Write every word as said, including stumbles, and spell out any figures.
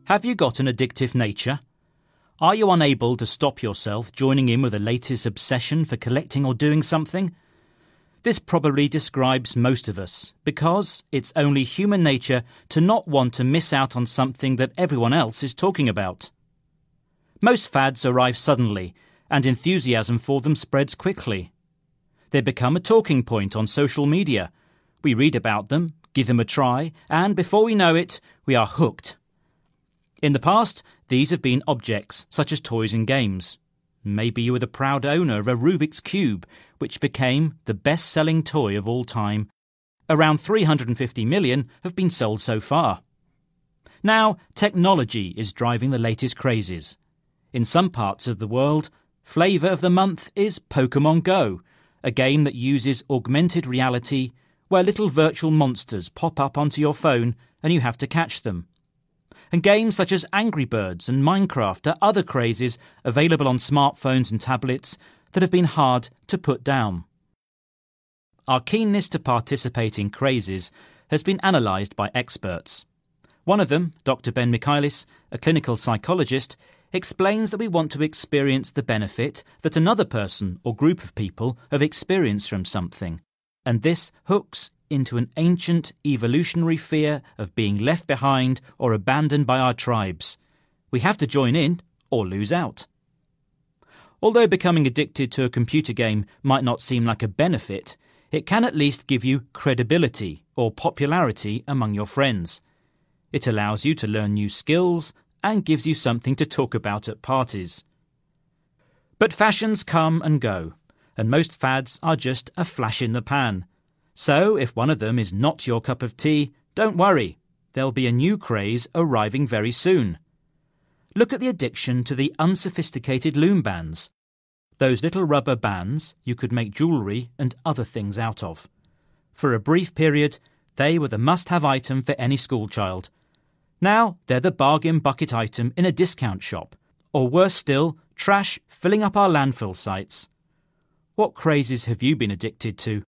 Have you got an addictive nature? Are you unable to stop yourself joining in with the latest obsession for collecting or doing something? This probably describes most of us, because it's only human nature to not want to miss out on something that everyone else is talking about. Most fads arrive suddenly, and enthusiasm for them spreads quickly. They become a talking point on social media. We read about them, give them a try, and before we know it, we are hooked. In the past, these have been objects such as toys and games. Maybe you were the proud owner of a Rubik's Cube, which became the best-selling toy of all time. Around three hundred fifty million have been sold so far. Now, technology is driving the latest crazes. In some parts of the world, flavour of the month is Pokemon Go, a game that uses augmented reality where little virtual monsters pop up onto your phone and you have to catch them. And games such as Angry Birds and Minecraft are other crazes available on smartphones and tablets that have been hard to put down. Our keenness to participate in crazes has been analysed by experts. One of them, Doctor Ben Michaelis, a clinical psychologist, explains that we want to experience the benefit that another person or group of people have experienced from something, and this hooks into an ancient evolutionary fear of being left behind or abandoned by our tribes. We have to join in or lose out. Although becoming addicted to a computer game might not seem like a benefit, it can at least give you credibility or popularity among your friends. It allows you to learn new skills and gives you something to talk about at parties. But fashions come and go, and most fads are just a flash in the pan. So, if one of them is not your cup of tea, don't worry, there'll be a new craze arriving very soon. Look at the addiction to the unsophisticated loom bands. Those little rubber bands you could make jewellery and other things out of. For a brief period, they were the must-have item for any schoolchild. Now they're the bargain bucket item in a discount shop, or worse still, trash filling up our landfill sites. What crazes have you been addicted to?